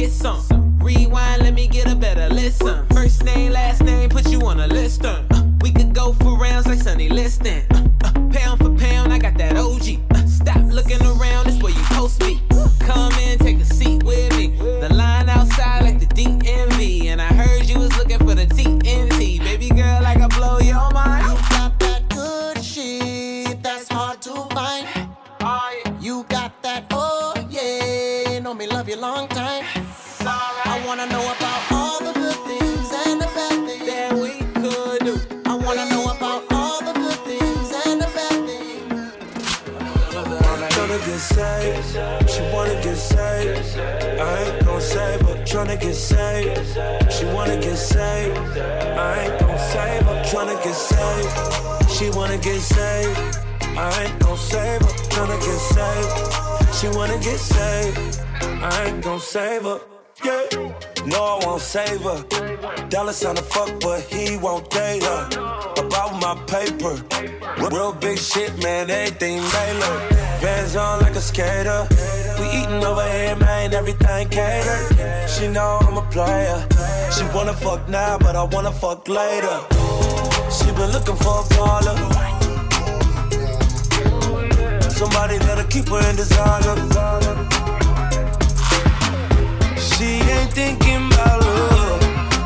get some. Rewind, let me get a better listen. First name, last name, put you on a list. We could go for rounds like Sonny Liston. Pound for pound, I got that OG. Stop looking around, it's where you post me. Come in, take a seat with me. The line outside like the DMV. And I heard you was looking for the TNT. Baby girl, I can blow your mind. You got that good shit that's hard to find. You got that, oh yeah, you know me love you long time. I wanna know about all the good things and the bad things that we could do. I wanna know about all the good things and the bad things. Tryna get saved, she wanna get saved. I ain't gon' save her, tryna get saved. She wanna get saved, I ain't gon' save her, tryna get saved. She wanna get saved, I ain't gon' save her, tryna get saved. She wanna get saved, I ain't gon' save her. Yeah, no, I won't save her. Dollar sign to fuck, but he won't date her. About my paper, real big shit, man, everything Mailer. Vans on like a skater. We eatin' over here, man, everything catered. She know I'm a player. She wanna fuck now, but I wanna fuck later. She been looking for a baller. Somebody that'll keep her in designer. She ain't thinking about love.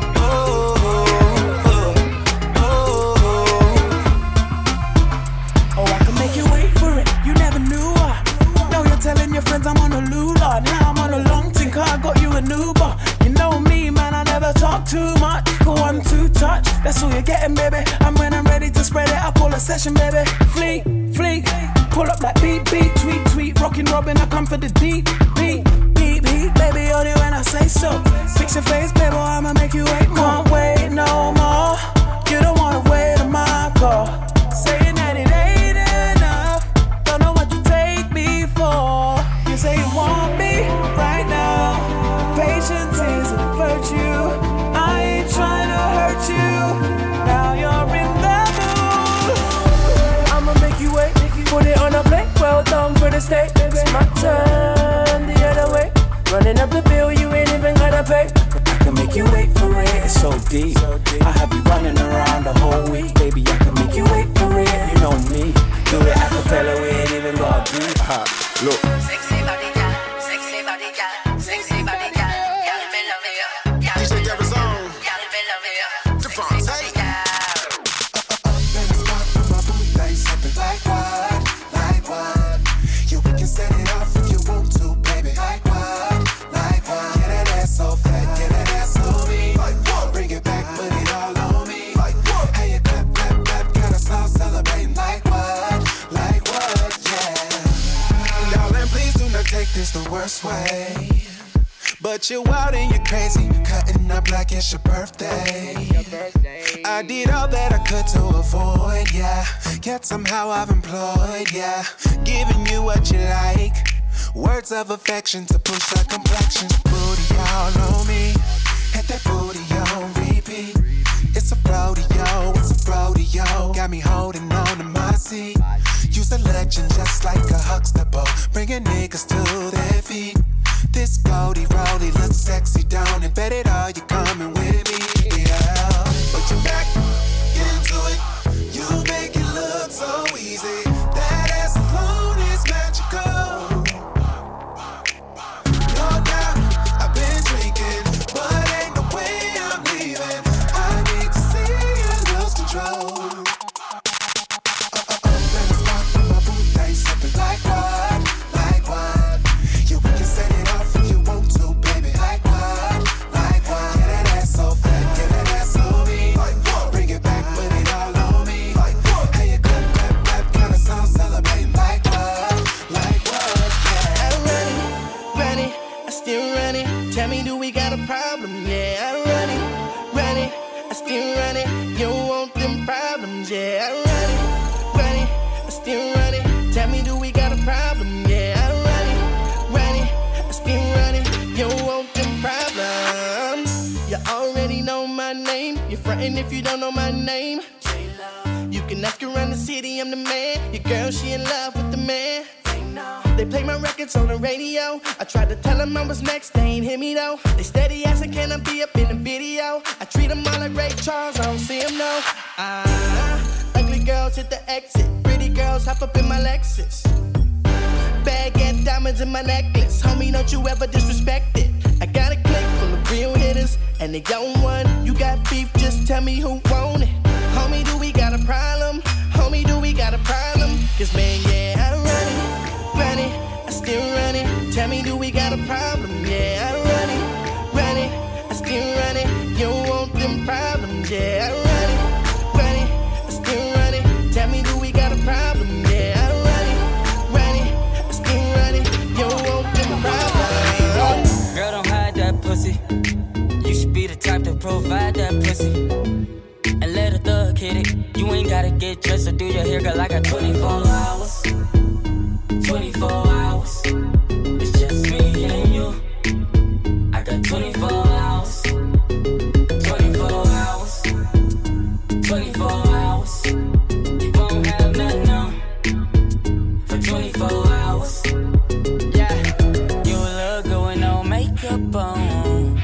Oh, I can make you wait for it. You never knew her. Now you're telling your friends I'm on a lula. Now I'm on a long thing, cause I got you an Uber. You know me, man, I never talk too much. Go on to touch, that's all you're getting, baby. And when I'm ready to spread it, I call a session, baby. Fleet, fleet, pull up like beat, beat, tweet, tweet. Rockin' Robin, I come for the deep, beat. Baby, only when I say so. Fix your face, baby, I'ma make you wait more. Can't wait no more. You don't wanna wait on my call. Saying that it ain't enough. Don't know what you take me for. You say you want me right now. Patience is a virtue. I ain't trying to hurt you. Now you're in the mood. I'ma make you wait. Put it on a plate. Well done for the steak. It's my turn the other way. Running up the bill, you ain't even gotta pay. I can make you wait for it, it's so deep. I have you running around the whole week. Baby, I can make you wait for it, you know me. Do it a cappella, we ain't even got deep. Look. Sexy body girl, sexy body girl, sexy body girl. Girl, me love you. DJ Devin's on. Girl, me love you. Devon, sexy body girl. Then I start with my boot, they sippin' like what? Like what? You can set it off if you want to, baby. Like what? Get that ass so fat, get that ass on me. Like what? Bring it back, put it all on me. Like what? Hey, you clap, clap, clap, kinda slow, celebrating. Like what? Yeah. Darling, please do not take this the worst way. But you're wild and you're crazy, cutting up like it's your birthday. I did all that I could to avoid, yeah. Yet somehow I've employed, yeah. Giving you what you like. Words of affection to push the complexion. Booty all on me. Hit that booty on repeat. It's a rodeo, it's a rodeo. Got me holding on to my seat. You's a legend just like a Huxtable. Bringing niggas to their feet. This Goldie Rollie looks sexy, don't it? Bet it all, you coming with me, yeah. Put your back, get into it. You make it look so easy. That ass alone is magical. No doubt, I've been drinking, but ain't no way I'm leaving. I need to see you lose control. Then I start with my boot, they sippin' like what? Like what? You can set it off if you want to, baby. Like what? Like what? Get that ass so fat, get that ass on me. Like what? Bring it back, put it all on me. Like what? Hey, you clap, clap, clap, kinda song celebrating. Like what? Like what? Yeah. I run it, I still run it. Tell me, do we got a problem? Yeah, I run it, I still run it. You don't want them problems? Yeah, I run it, I still run it. Tell me, do we got a problem? Yeah, I run it, I still run it. You don't want them problems? You already know my name. You're frontin' if you don't know my name. You can ask around the city, I'm the man. Your girl, she in love with the man. They play my records on the radio. I tried to tell them I was next, they ain't hear me though. They steady asking, can I be up in the video? I treat them all like Ray Charles, I don't see them no. Ugly girls hit the exit. Pretty girls hop up in my Lexus. Bag and diamonds in my necklace. Homie, don't you ever disrespect it. I got a clique full of real hitters, and they own one. You got beef, just tell me who want it. Homie, do we got a problem? Homie, do we got a problem? Cause man, yeah, I run it, I still run it. Tell me, do we got a problem? Yeah, I run it, I still run it. You don't want them problems, yeah, I run it, I still run it. Tell me, do we got a problem? Yeah, I run it, I still run it. You don't want them problems. Girl, don't hide that pussy. You should be the type to provide that pussy. And let a thug hit it. You ain't gotta get dressed or do your hair, girl. I got 24 hours. 24 hours. It's just me and you. I got 24 hours. 24 hours. 24 hours. You won't have nothing on for 24 hours. Yeah, you look good with no makeup on.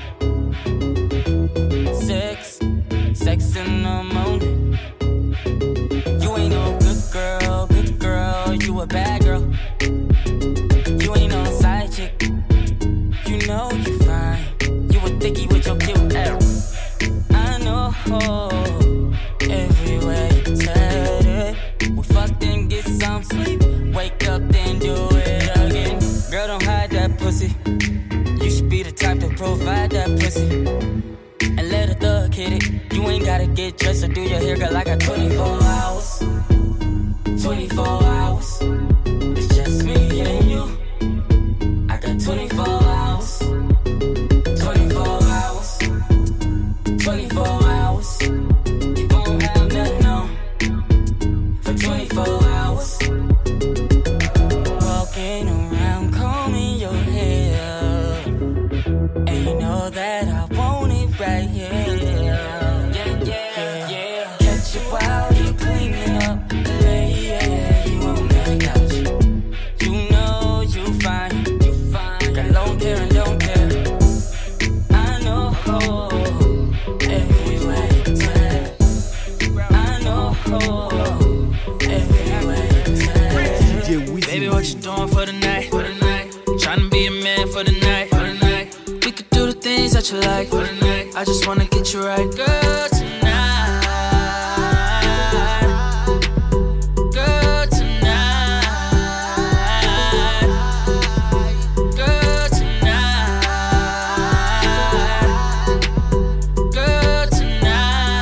Sex in the morning. You ain't no good girl, you a bad girl. You ain't no side chick, you know you fine. You a dickie with your cute ass. I know, everywhere you turn it. We fucked and get some sleep, wake up then do it again. Girl, don't hide that pussy. You should be the type to provide that pussy. And let a thug hit it. You ain't gotta get dressed or do your hair, girl. I got 24 hours. 24 hours. It's just me and you. I got 24 hours. 24 hours. 24 hours. You won't have nothing on for 24 hours. Walking around, combing your hair. And you know that I want it right here. Yeah. Catch you while you cleaning up. Yeah, you on that couch. You know you fine. Got long hair and don't care. I know everywhere you turn. I know everywhere you turn. Baby, what you doing for the night? Tryna be a man for the night. We could do the things that you like for the night. I just wanna get you right, girl, tonight. Girl, tonight. Girl, tonight. Girl, tonight.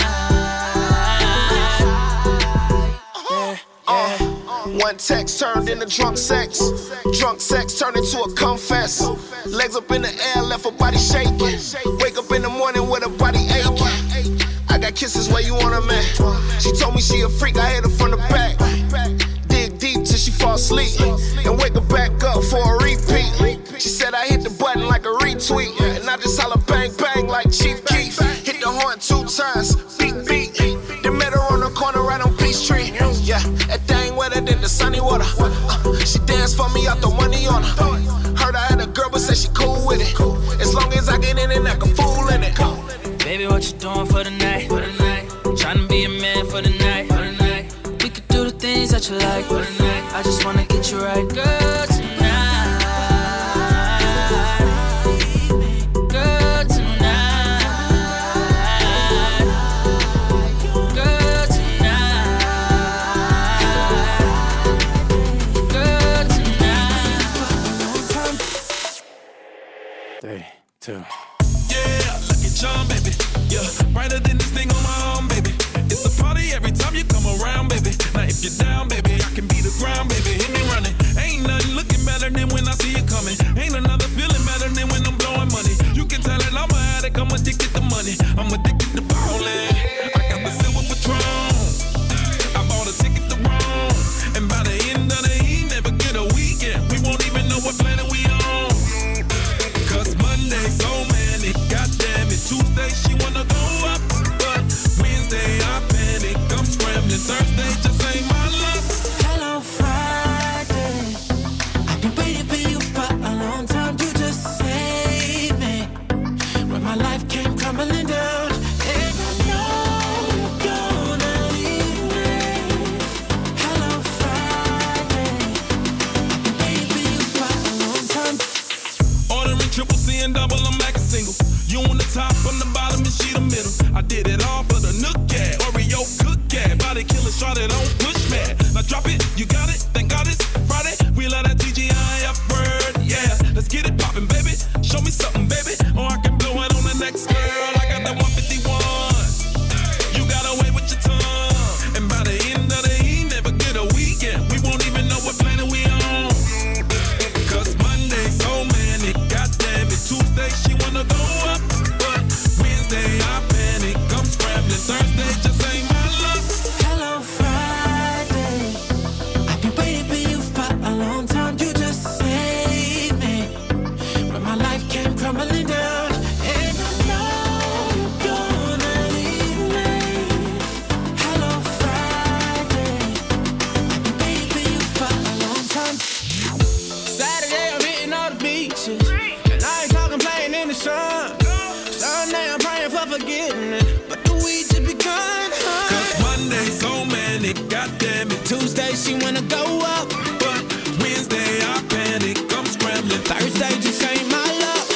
Yeah. One text turned into drunk sex. Drunk sex turned into a confess. Legs up in the air, left her body shaking. Wake up in the morning with her body aching. I got kisses where you want her, man. She told me she a freak, I hit her from the back. Dig deep till she fall asleep. And wake her back up for a repeat. She said I hit the button like a retweet. And I just holler bang bang like Chief Keef. Hit the horn 2 times, beat beat. Then met her on the corner right on Peachtree. Yeah, that thing wetter than the sunny water. She danced for me, I throw money on her. Heard I had a girl, but said she cool with it. As long as I get in and act a fool in it. Baby, what you doing for the night? Tryna be a man for the night. We could do the things that you like for the night. I just wanna get you right, girl, tonight. Girl, tonight. Girl, tonight. Girl, tonight. 3, 2. Yeah, look at John, baby. Yeah, brighter than this thing on my arm, baby. It's a party every time you come around, baby. Now if you're down, baby, I can be the ground, baby. Hit me running. Ain't nothing looking better than when I see you coming. Ain't another feeling better than when I'm blowing money. You can tell that I'm an addict, I'm addicted to money. I'm addicted to ballin'. I got the silver Patron. I bought a ticket to Rome. And by the end of the evening, never get a weekend. We won't even know what planet we on. Cause Monday so manic, goddamn it. Tuesday she wanna go up, but Wednesday I panic. I'm scrambling. Thursday just ain't my luck. Hello, Friday. life came crumbling down. And I know you're gonna leave me. Hello Friday, I've been waiting for you for a long time. Ordering triple C and double, I'm back a single. You on the top, on the bottom, and she the middle. I did it all for the Nook Cat, Oreo Cook Cat. Body killer, shot it on push man. Now drop it, you got it, thank God it's Friday. We let that TGI upward, yeah. Let's get it poppin', baby. Show me something, baby, or I can blow it on the next girl. I got that 151. You got away with your tongue. And by the end of the evening, never get a weekend. We won't even know what planet we on. Cause Monday, so many, goddamn it. Tuesday, she wanna go up, but Wednesday, I panic. I'm scrambling. Thursday, just ain't my luck. Hello Friday, I've been waiting for you for a long time. You just saved me when my life came crumbling down. And I know you're gonna leave me. Hello Friday, I've been waiting for you for a long time. Saturday I'm hitting all the beaches, and I ain't talking playing in the sun. Sunday I'm praying for forgiveness, but the week just begun. Cause Monday, so many, goddamn it. Tuesday she wanna go up, But Wednesday, I panic. I'm scrambling. Thursday just ain't my luck.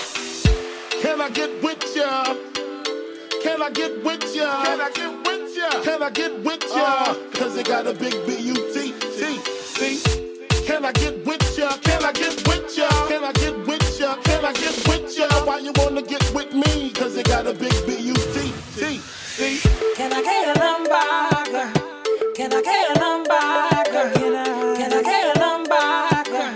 Can I get with ya? Can I get with ya? Can I get with ya? Can I get with ya? Cause it got a big B-U-T-T-C. Can I get with ya? Can I get with ya? Can I get with ya? Can I get with ya? Why you wanna get with me? Cause it got a big B-U-T-T-C. Can I get a number, girl? Can I get a number, girl? Can I get a number, girl?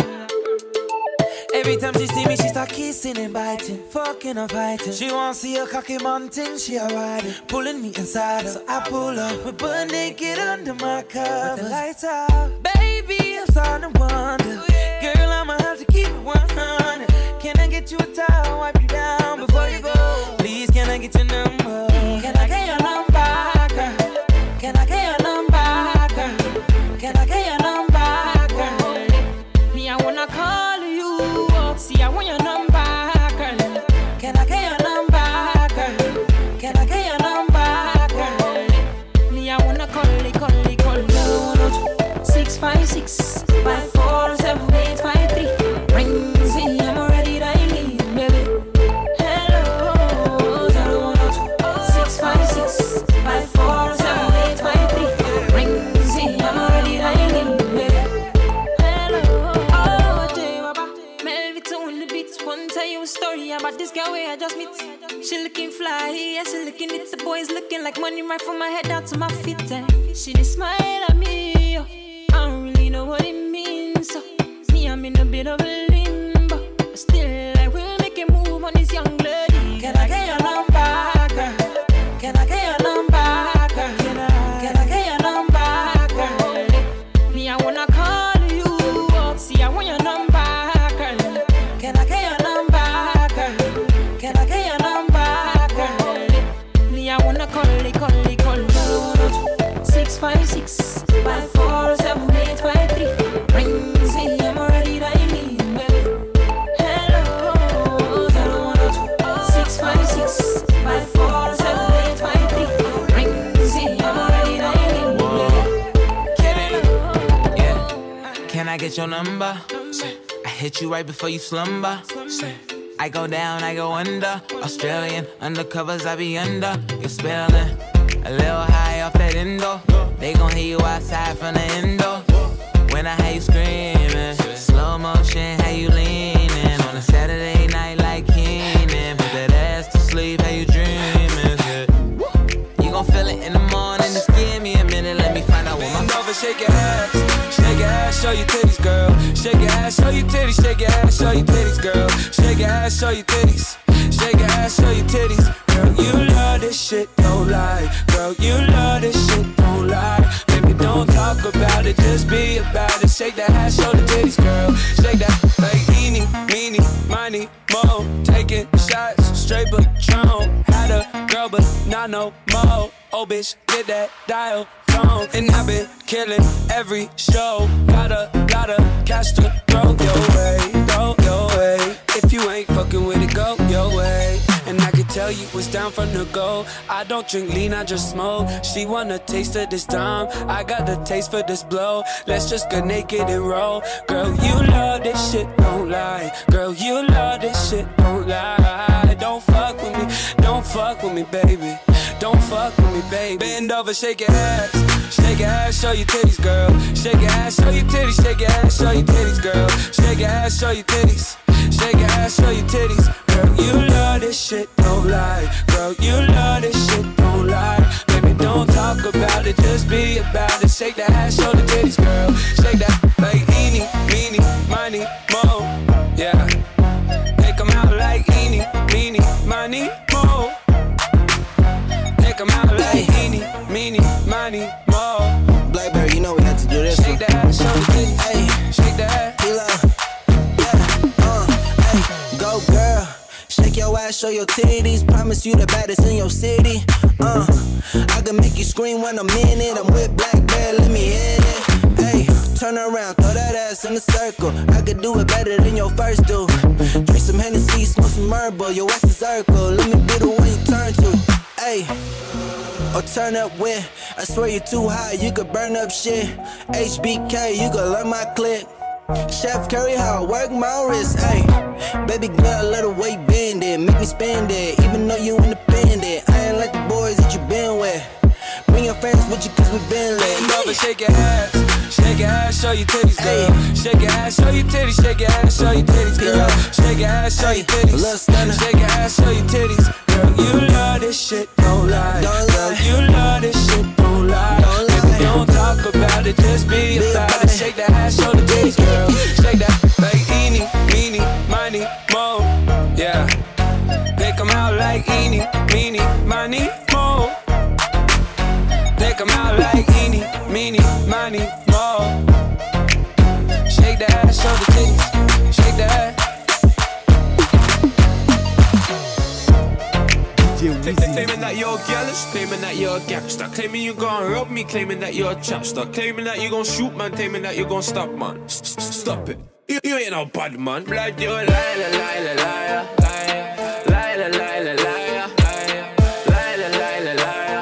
Every time she see me, she start kissing and biting, fucking and fighting. She wanna see a cocky mountain, she a riding, pulling me inside her. So I pull up, we butt naked under my cover. With the lights out, baby, I'm starting to wonder. Girl, I'ma have to keep it 100. Can I get you a towel, wipe you down before you go? Please, can I get your number? Can I get your number, girl? Can I get your number, girl? Can I get your number, girl? Me, I wanna call you. See, I want your number, girl. Can I get your number, girl? Can I get your number, girl? Me, I wanna call you. 656 547 853. Rings in, I'm already dialing, baby. Hello, 656 547 853. Rings in, I'm already dialing, baby. Hello, oh, J-Waba, Melvito in the beats. One tell you a story about this girl where I just meet. She looking fly, yeah, she looking at the boys looking like money right from my head down to my feet. She just smile at me, yo. I don't really know what it means. So me, I'm in a bit of a limbo, but still I will make a move on this young lady. Can I get your number, girl? Can I get your number, girl? Can I get your number, girl? Me, I wanna call you. See, I want your number, girl. Can I get your number, girl? Can I get your number, girl? Me, I wanna call you. 656 547 853. Rings in, I'm already dialing, baby. Hello, 656 547 853. Rings in, I'm already dialing, baby. Yeah. Can I get your number? I hit you right before you slumber. I go down, I go under. Australian undercovers, I be under. You're spelling a little high off that endo. They gon' hear you outside from the endo. When I hear you screaming, slow motion, how you leaning on a Saturday night like Keenan. Put that ass to sleep, how you dreaming? You gon' feel it in the morning. Just give me a minute, let me find out what my over. Shake your ass, show your titties, girl. Shake your ass, show your titties. Shake your ass, show your titties, girl. Shake your ass, show your titties. Shake your ass, show your titties. Girl, you love this shit, don't lie. Girl, you love this shit, don't lie. Baby, don't talk about it, just be about it. Shake that ass, show the titties, girl. Shake that like eeny, meeny, miny, mo. Taking shots, straight Patron. Had a girl, but not no more. Oh, bitch, get that dial tone. And I've been killing every show. Got a lot of cash to throw your way, go your way. If you ain't fucking with it, go your way. And I can tell you was down from the go. I don't drink lean, I just smoke. She wanna taste of this time. I got the taste for this blow. Let's just get naked and roll. Girl, you love this shit, don't lie. Girl, you love this shit, don't lie. Don't fuck with me, don't fuck with me, baby. Don't fuck with me, baby. Bend over, shake your ass. Shake your ass, show your titties, girl. Shake your ass, show your titties. Shake your ass, show your titties, girl. Shake your ass, show your titties. Shake your ass, show your titties. Girl, you love this shit, don't lie. Girl, you love this shit, don't lie. Baby, don't talk about it, just be about it. Shake that ass, show the titties, girl. Shake that like eeny, meeny, miny, mo. Yeah. Make them out like eeny, meeny, miny, mo. Make them out like eeny, meeny, miny, mo. Blackberry, you know we had to do this. Shake that ass, show the titties. Hey, shake that. Go girl, shake your ass, show your titties. Promise you the baddest in your city. I can make you scream when I'm in it. I'm with Blackberry, let me hit it. Hey, turn around, throw that ass in a circle. I could do it better than your first do. Drink some Hennessy, smoke some Marlboro. Your ass is circle, let me be the one you turn to. Hey, or turn up with. I swear you're too high, you could burn up shit. HBK, you could learn my clip. Chef Curry, how I work my wrist, ayy. Baby girl, let the way bend it. Make me spend it, even though you independent. I ain't like the boys that you been with. Bring your friends with you cause we been lit. Bend over, shake your ass. Shake your ass, show your titties, girl. Shake your ass, show your titties. Shake your ass, show your titties, girl. Shake your ass, show your titties. Shake your ass, show your titties. Girl, you love this shit, don't lie. Girl, you love this shit, don't lie. Baby, don't talk about it, just be about it. Shake that ass, show the titties, girl. Shake that like eeny, meeny, miny, mo. Yeah. Make them out like eeny, meeny, miny, mo. Make them out like eeny, meeny, miny, mo. Shake that ass, show the titties. Shake that. Claiming that you're jealous, claiming that you're a gangster. Claiming you gon' rob me, claiming that you're a chapster. Claiming that you gon' shoot man, claiming that you gon' stop man. Stop it, you ain't no bad man. Blood, you a liar, liar, liar, liar, liar, liar, liar, liar, liar,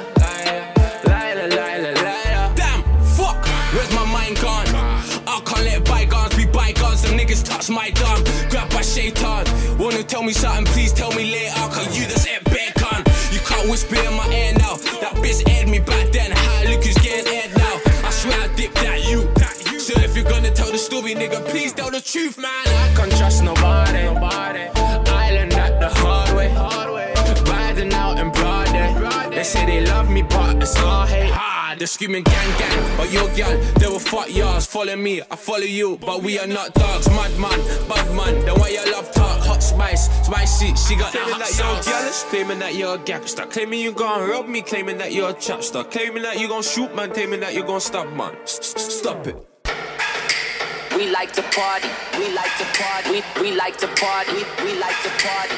liar, liar, liar. Damn, fuck, where's my mind gone? I can't let bygones be bygones. Them niggas touch my dumb, grab by shaitan. Wanna tell me something, please tell me later. Cause you just ain't bad gun. You can't whisper in my ear now. That bitch aired me back then. How look who's getting aired now. I swear I dipped that you. So if you're gonna tell the story, nigga, please tell the truth, man. I can't trust nobody. I learned that the hard way. Riding out in broad day. They say they love me, but it's all hate. They're screaming gang gang, but your gal, they will fuck yours. Follow me, I follow you, but we are not dogs. Mad man, bad man, the way your love talk. Hot spice, spicy, she got claiming that you're jealous, claiming that you're a gangster. Claiming you gon' rob me, claiming that you're a chapster. Claiming that you gon' shoot man, claiming that you gon' stab man. Stop it. We like to party, we like to party, we like to party, we like to party.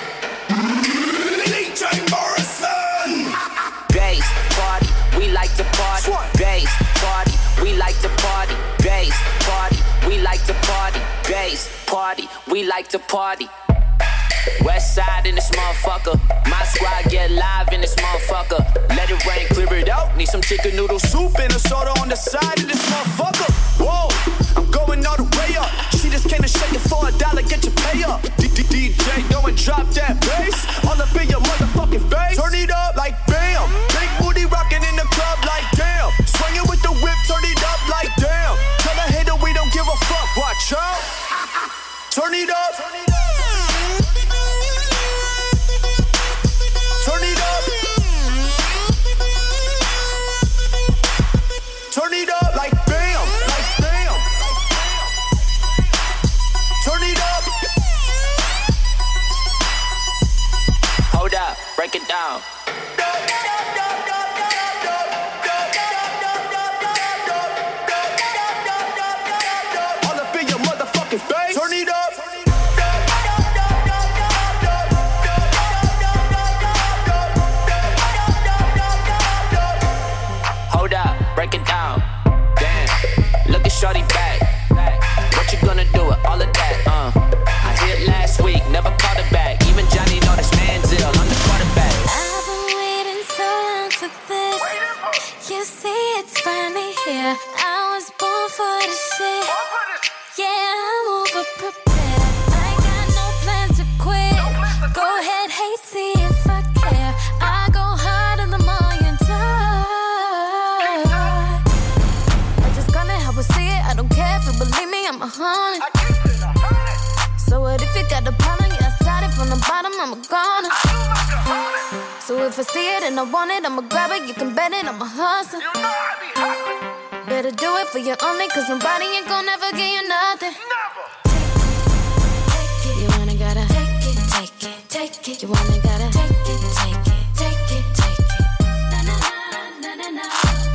DJ Morrison! Bass, party, we like to party. Bass, party, we like to party. Bass, party, we like to party. Bass, party, we like to party. West side in this motherfucker. My squad get live in this motherfucker. Let it rain, clear it out. Need some chicken noodle soup and a soda on the side of this motherfucker. Whoa, I'm going all the way up. She just came to shake it for $1, get your pay up. DJ, go and drop that bass. All up in your motherfucking face. Turn it up like bam. Big booty rocking in the club like damn. Swinging with the whip, turn it up like damn. Tell the hater we don't give a fuck. Watch out. Turn it up. Turn it up. Turn it up. Turn it up like bam, like bam. Turn it up. Hold up, break it down. All up in your motherfucking face. Turn it up. Hold up, break it down. Damn, look at shorty back. What you gonna do with all of that? I hit last week, never called it back. Even Johnny know this Manziel, I'm the quarterback. 100. So what if you got the problem? Yeah, I started from the bottom, I'm a goner. So if I see it and I want it, I'ma grab it. You can bet it, I'm a hustler. Better do it for you only, cause nobody ain't gon' never give you nothing. Take it, you wanna gotta take it, take it, take it. You wanna gotta take it, take it, take it, take it. Na na na na na.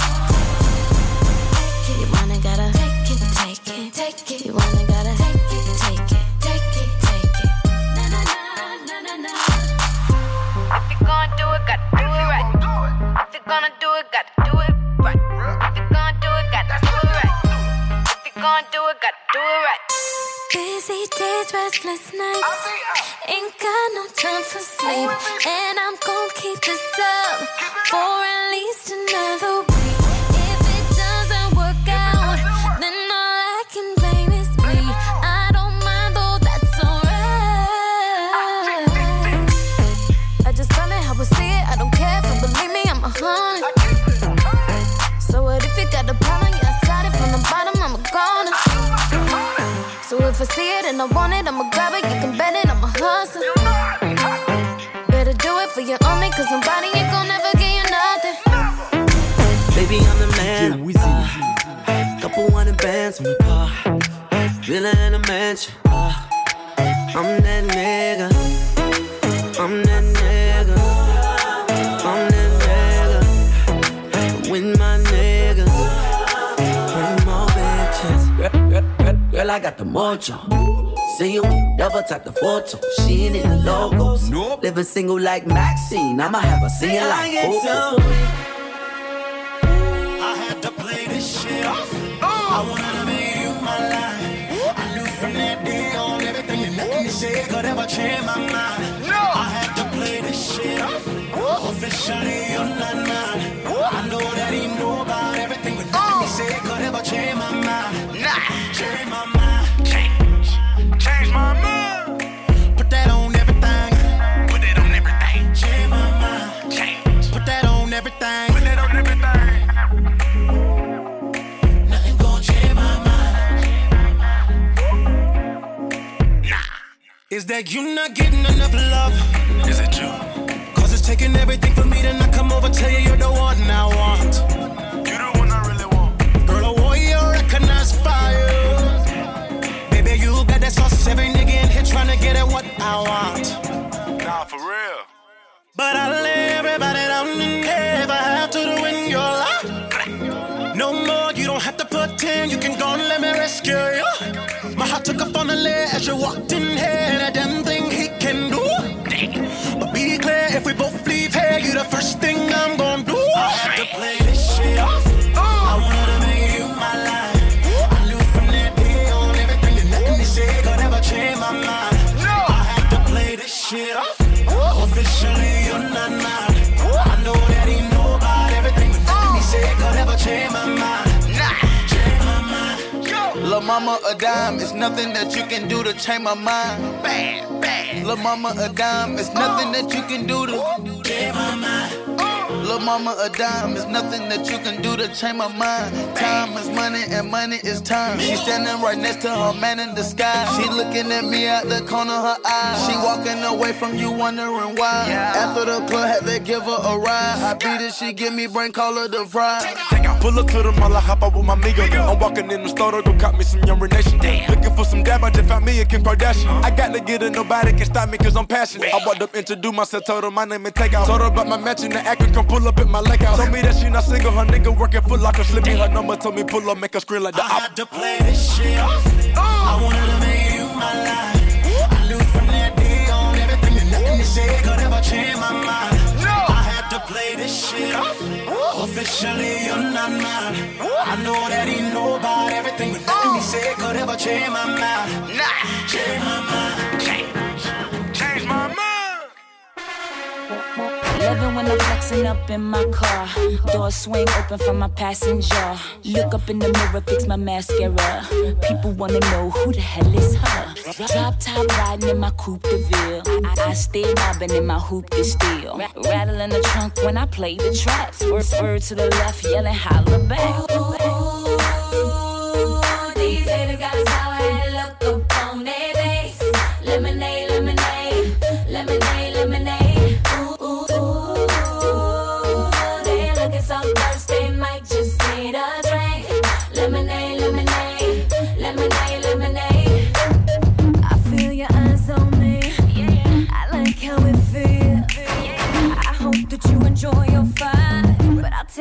Take it, you wanna gotta take it, take it, take it. You wanna gotta take it, take it, take it, take it. Na na na na na. If you gonna do it, gotta do it right. If you gonna do it, gotta do it right. If you gonna do it, gotta do it right. If you gonna do it, gotta do it right. Busy days, restless nights. Ain't got no time for sleep. And I'm gon' keep this up for at least another week. If it doesn't work out, then all I can blame is me. I don't mind though, that's alright. I just call it how I see it. I don't care if you believe me, I'm 100. So what if you got the problem? Yeah, I started from the bottom, I'm a goner. So if I see it and I want it, I'ma grab it. You can bet it, I'm a hustler. Better do it for you only, cause nobody ain't gon' never give you nothing. Baby, I'm the man. Couple $100 on the car. Villa in a mansion. I'm that nigga. I'm that nigga. I'm that nigga. With my niggas. Bring more bitches. Girl, I got the mojo. See you, double tap the photo. She ain't in the logos. Nope. Living single like Maxine. I'ma have her singing like Coco. I had to play this shit off. I wanted to make you my life. I knew from that day on everything and nothing you said could ever change my mind. I had to play this shit off. Officially, you're not mine. I know that he knew about everything, but nothing he said could ever change my mind. Change my mind. Change my mind. Put that on everything. Put that on everything. Change my mind. Change. Put that on everything. Put that on everything. Nothing gon' change my mind. Nah. Is that you not getting enough love? Is it you? Cause it's taking everything from me to not come over, tell you you're the one I want. You're the one I really want. Girl, I want you to recognize fire. Baby, you got that sauce, every nigga in here tryna get at what I want. Nah, for real. But I'll lay everybody down and if I have to do in your life. No more, you don't have to pretend, you can go and let me rescue you. My heart took off on the ledge as you walked in here, and a damn thing he can do. But be clear, if we both leave here, you the first thing I'm gon' do. I had to play this shit off. I wanted to make you my life. I knew from that day on everything that nothing they said could ever change my mind. I had to play this shit off. Officially, you're not mine. I know that he know about everything, but nothing he said could ever change my mind. Change my mind. Lil' mama a dime, it's nothing that you can do to change my mind. Bad, bad. Lil' mama a dime, it's nothing that you can do to change my mind. Lil' mama a dime, it's nothing that you can do to change my mind. Time is money and money is time. She standing right next to her man in the sky. She looking at me out the corner of her eye. She walking away from you wondering why. After the club had to give her a ride. I beat it, she give me brain, call her the fry. Pull up to the mall, I hop out with my amigo. I'm walking in the store to go cop me some Younger Nation. Looking for some dab, I just found me a Kim Kardashian. I got to get it, nobody can stop me cause I'm passionate. I walked up, introduced myself, told her my name and take out. Told her about my match and the actor, come pull up at my lake house. Told me that she not single, her nigga working Foot Locker. Slip me her number, told me pull up, make her scream like the I had to play this shit off. I wanted to make you my life. I knew from that day on everything that nothing they said could ever change my mind. I had to play this shit off. Officially, you're not mine. I know that he know about everything, but nothing he said could ever change my mind. Change my mind. Change my mind. Loving when I'm flexing up in my car. Door swing open for my passenger. Look up in the mirror, fix my mascara. People wanna know who the hell is her. Drop top riding in my coupe de ville. I stay mobbing in my hoop de steel. Rattle in the trunk when I play the trap. Swerve to the left, yelling holla back. Ooh, these haters got a sour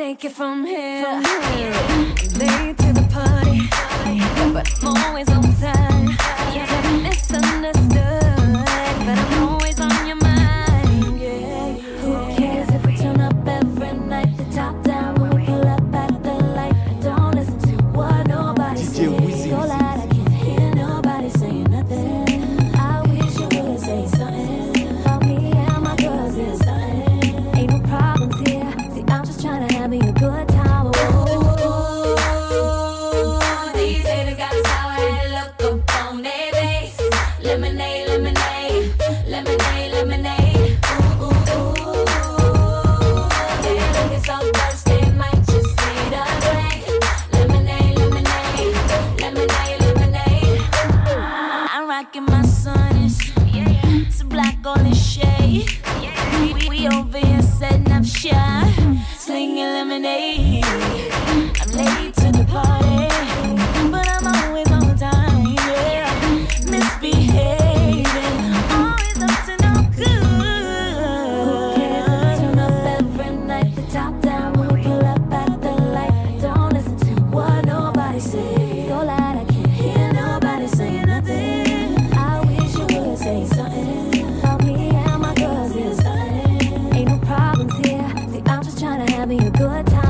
take it from here. Late to the party, but I'm always on time. You get misunderstood, but I'm always on your mind. Yeah. Who cares if we turn up every night? The top down when we pull up at the light. Don't listen to what nobody says. So loud I can't hear nobody saying nothing. I wish you would say something about me and my girls is something. Ain't no problems here. See, I'm just trying to have me a good time. These haters got a sour head look up on their face. Lemonade, lemonade, lemonade, lemonade. Ooh, ooh, ooh. They're looking so thirsty, might just need a drink. Lemonade, lemonade, lemonade, lemonade. I'm rocking my Sonics. It's a black golden shade. We over here setting up shop, slinging lemonade. I'm late to the party, but I'm always on time. Yeah, misbehaving, always up to no good. Who cares if we turn up every night? The top down when we pull up at the light. Don't listen to what nobody says. So loud I can't hear nobody saying nothing. I wish you would say something about me and my girls is something. Ain't no problems here. See, I'm just trying to have me a good time.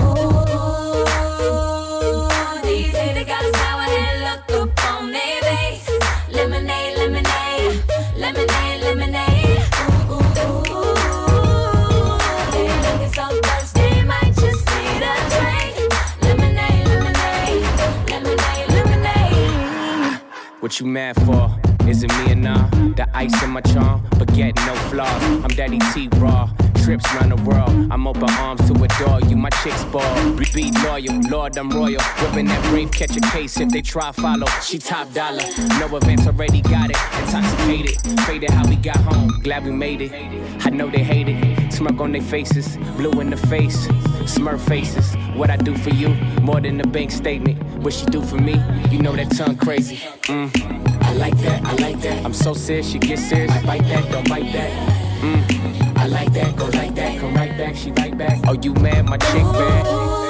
These haters got a sour head look up on their face. Lemonade, lemonade, lemonade, lemonade. Ooh, ooh, ooh. They're looking so thirsty, might just need a drink. Lemonade, lemonade, lemonade, lemonade. What you mad for? Is it me or nah? The ice in my charm, but get no flaws. I'm Daddy T Raw. Trips round the world, I'm open arms to adore you. My chick's ball, be loyal, Lord, I'm royal. Whipping that brave, catch a case if they try follow. She top dollar, no events, already got it. Intoxicated, faded how we got home. Glad we made it. I know they hate it. Smirk on their faces, blue in the face, smurf faces. What I do for you, more than a bank statement. What she do for me, you know that tongue crazy. I like that, I like that. I'm so serious, you get serious. I bite that, don't bite that. I like that, go like that, come right back, she right back. Oh, you mad, my chick bad.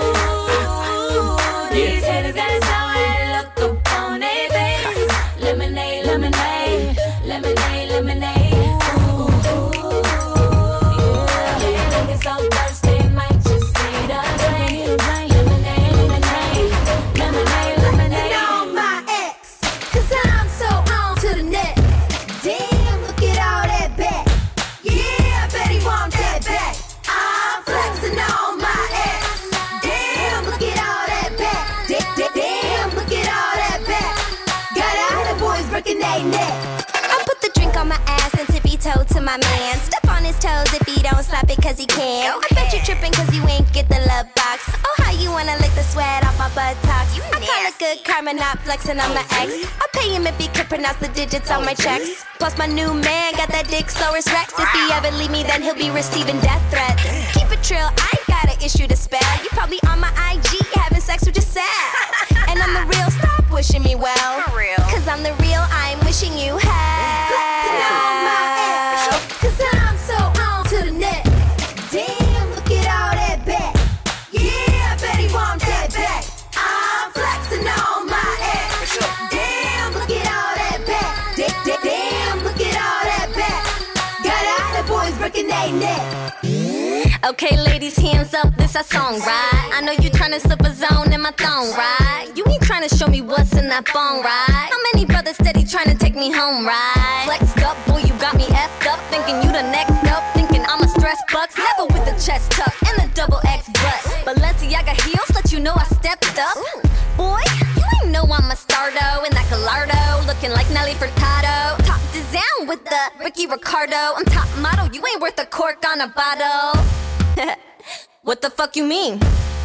These haters got a sour head look up on their face. Lemonade, lemonade, lemonade, lemonade. Ooh, ooh, they're looking so thirsty, might just need a drink. Lemonade, lemonade, lemonade, lemonade. On my ex, 'cause I'm so on to the next. Damn, look at all that back. Yeah, I bet he want that back. I'm flexing on my ex. Damn, look at all that back. Damn, look at all that back. Got all the boys breaking their neck. I put the drink on my ass and tippy toe to my man. Step on his toes if he don't slap it 'cause he can. I bet you tripping 'cause you ain't get the love box. Oh, how you wanna lick the sweat off my buttocks? I call it good karma, not flexing on my ex. I'll pay him if he could pronounce the digits on my checks. Plus my new man got that dick Saurus Rex. If he ever leave me, then he'll be receiving death threats. Keep it trill, I ain't got an issue to spare. You probably on my IG having sex with yourself. And I'm the real, stop wishing me well. For real. 'Cause I'm the real, I'm wishing you hell. Flexing on my ex, 'cause I'm so on to the next. Damn, look at all that back. Yeah, I bet he want that back. I'm flexing on my ex. Damn, look at all that back. Damn, look at all that back. Got all the boys breaking their neck. Okay, ladies, hands up, this our song, right? I know you tryna slip a zone in my thong, right? You ain't tryna show me what's in that bone, right? How many brothers steady tryna take me home, right? Flexed up, boy, you got me effed up, thinking you the next up, thinking I'm a stress bucks, never with the chest tuck and the double X butt. Balenciaga heels, let you know I stepped up. Boy, you ain't know I'm a stardo in that Gallardo, looking like Nelly Furtado. Top down with the Ricky Ricardo. I'm top model, you ain't worth a cork on a bottle. What the fuck you mean?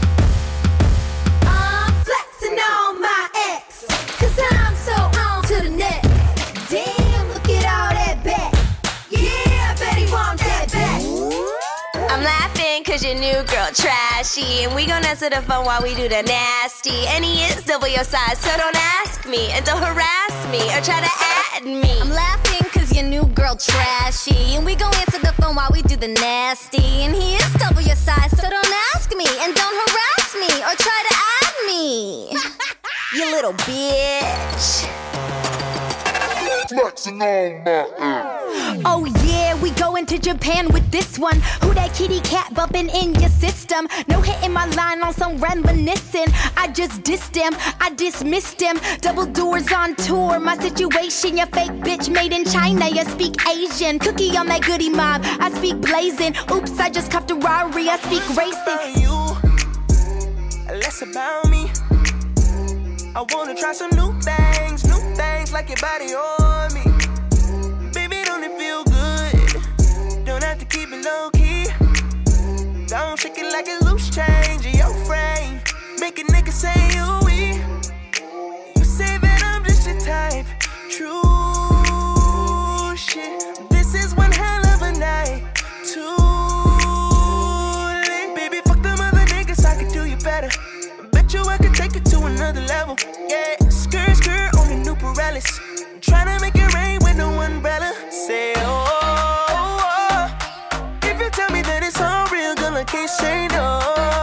I'm flexing on my ex, 'cause I'm so on to the next. Damn, look at all that back. Yeah, I bet he want that back. I'm laughing 'cause your new girl trashy, and we gon' answer the phone while we do the nasty. And he is double your size, so don't ask me, and don't harass me or try to add me. I'm laughing 'cause your new girl trashy, and we gon' answer the phone while we do the nasty. And he is double your size, so don't ask me and don't harass me or try to add me. You little bitch. Flexing on my Oh yeah, we going to Japan with this one. Who that kitty cat bumping in your system? No hitting my line on some reminiscing. I just dissed him, I dismissed him. Double doors on tour, my situation. Your fake bitch made in China, you speak Asian. Cookie on that goodie mob, I speak blazing. Oops, I just copped a Rari, I speak racing. You, less about me. I wanna try some new things like your body on me. Baby, don't it feel good? Don't have to keep it low key. Don't shake it like it's loose change in your frame. Make a nigga say you we. You say that I'm just your type. True shit. This is one hell of a night. Too late. Baby, fuck them other niggas, I could do you better. Bet you I could take it to another level. Yeah, skirt on the new Pirellis. Tryna make it rain with no umbrella. Say oh, if you tell me that it's all real, girl, I can't say no.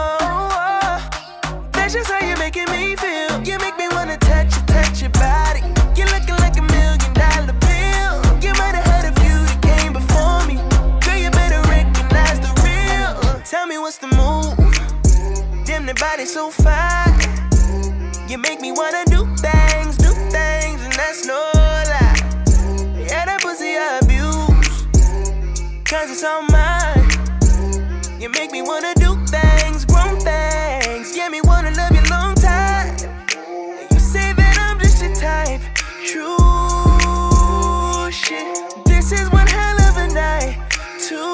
That's just how you're making me feel. You make me wanna touch your body. You're looking like $1 million bill. You might have heard a few that came before me. Girl, you better recognize the real. Tell me what's the move. Damn, the body so fine. You make me wanna do things, and that's no lie. Yeah, that pussy I abuse, 'cause it's all mine. You make me wanna do things, grown things. Yeah, me wanna love you long time. You say that I'm just your type. True shit. This is one hell of a night. Too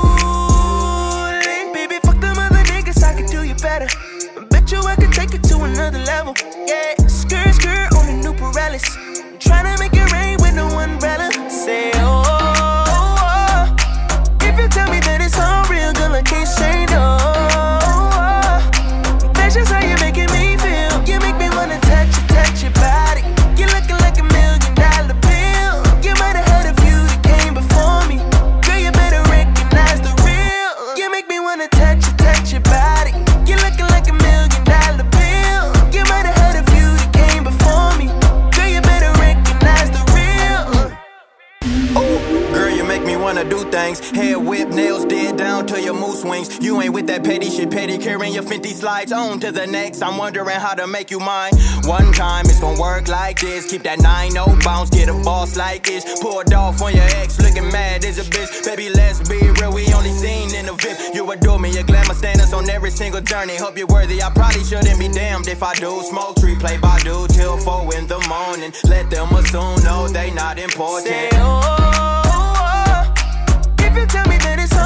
late. Baby, fuck them other niggas, I could do you better. Bet you I could take it to another level. Yeah, skirt on the new Pirellis. Tryna make it rain with no umbrella. Say oh, if you tell me that it's all real, girl, I can't say no. That's just how you're making me feel. You make me wanna touch your body. You're looking like $1 million bill. You might have heard a few that came before me. Girl, you better recognize the real. You make me wanna touch your body. You're looking like $1 million bill. You might have heard a few that came before me. Girl, you better recognize the real. Ooh, girl, you make me wanna do things. Hair whip, nails dead down to your moose wings. You ain't with that petty shit, carrying your Fenty slides on to the next. I'm wondering how to make you mine. One time it's gonna work like this. Keep that 9-0 bounce, get a boss like this. Pulled off on your ex, looking mad as a bitch. Baby, let's be real, we only seen in the VIP. You adore me, your glamour standards on every single journey. Hope you're worthy, I probably shouldn't be damned if I do. Smoke tree, play Badu till 4 in the morning. Let them assume, no, they not important. Say oh, if you tell me that it's